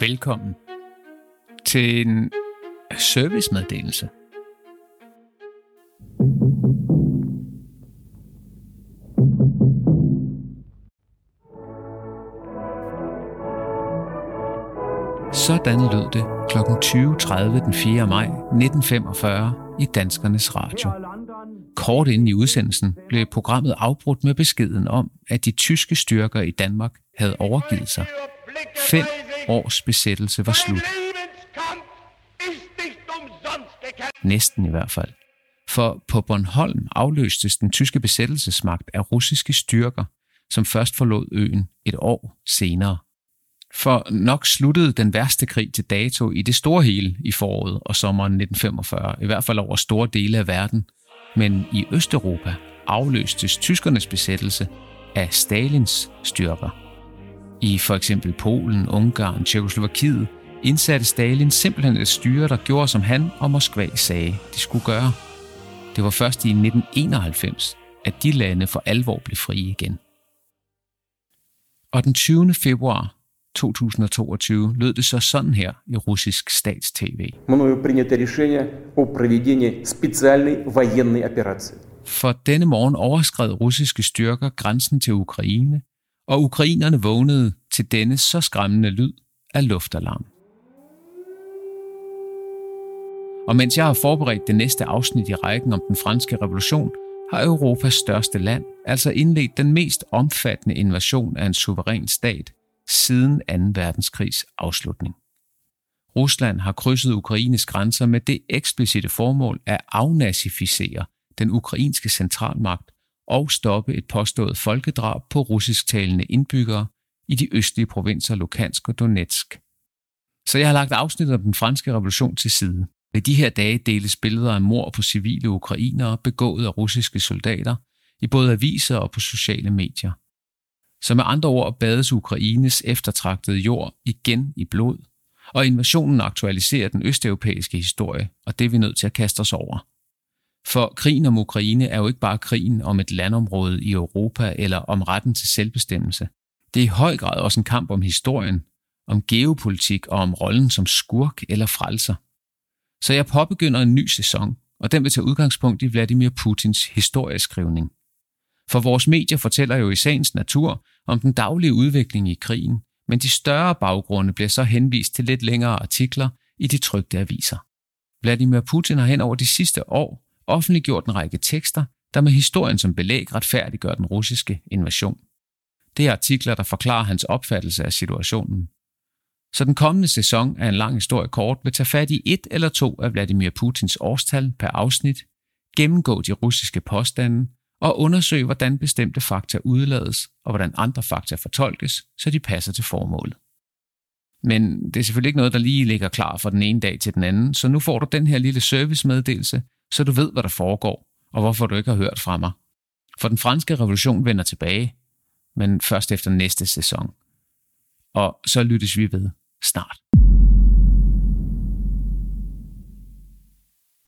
Velkommen til en servicemeddelelse. Sådan lød det kl. 20.30 den 4. maj 1945 i Danskernes Radio. Kort inden i udsendelsen blev programmet afbrudt med beskeden om, at de tyske styrker i Danmark havde overgivet sig. 5 års besættelse var slut. Næsten i hvert fald. For på Bornholm afløstes den tyske besættelsesmagt af russiske styrker, som først forlod øen et år senere. For nok sluttede den værste krig til dato i det store hele i foråret og sommeren 1945, i hvert fald over store dele af verden. Men i Østeuropa afløstes tyskernes besættelse af Stalins styrker. I for eksempel Polen, Ungarn, Tjekkoslovakiet indsatte Stalin simpelthen et styre, der gjorde, som han og Moskva sagde, de skulle gøre. Det var først i 1991, at de lande for alvor blev frie igen. Og den 20. februar 2022 lød det så sådan her i russisk stats-tv. Мною принято решение о проведении специальной военной операции. For denne morgen overskred russiske styrker grænsen til Ukraine, og ukrainerne vågnede til denne så skræmmende lyd af luftalarm. Og mens jeg har forberedt det næste afsnit i rækken om den franske revolution, har Europas største land altså indledt den mest omfattende invasion af en suveræn stat siden 2. verdenskrigs afslutning. Rusland har krydset Ukraines grænser med det eksplicite formål at afnazificere den ukrainske centralmagt og stoppe et påstået folkedrab på russisktalende indbyggere i de østlige provinser Luhansk og Donetsk. Så jeg har lagt afsnittet om den franske revolution til side. Ved de her dage deles billeder af mord på civile ukrainere begået af russiske soldater i både aviser og på sociale medier. Så med andre ord bades Ukraines eftertragtede jord igen i blod, og invasionen aktualiserer den østeuropæiske historie, og det er vi nødt til at kaste os over. For krigen om Ukraine er jo ikke bare krigen om et landområde i Europa eller om retten til selvbestemmelse. Det er i høj grad også en kamp om historien, om geopolitik og om rollen som skurk eller frelser. Så jeg påbegynder en ny sæson, og den vil tage udgangspunkt i Vladimir Putins historieskrivning. For vores medier fortæller jo i sagens natur om den daglige udvikling i krigen, men de større baggrunde bliver så henvist til lidt længere artikler i de trykte aviser. Vladimir Putin har hen over de sidste år offentliggjort en række tekster, der med historien som belæg retfærdiggør den russiske invasion. Det er artikler, der forklarer hans opfattelse af situationen. Så den kommende sæson af En lang historie kort vil tage fat i 1 eller 2 af Vladimir Putins årstal per afsnit, gennemgå de russiske påstande og undersøge, hvordan bestemte fakta udlades og hvordan andre fakta fortolkes, så de passer til formålet. Men det er selvfølgelig ikke noget, der lige ligger klar fra den ene dag til den anden, så nu får du den her lille servicemeddelelse, så du ved, hvad der foregår, og hvorfor du ikke har hørt fra mig. For den franske revolution vender tilbage, men først efter næste sæson. Og så lyttes vi ved snart.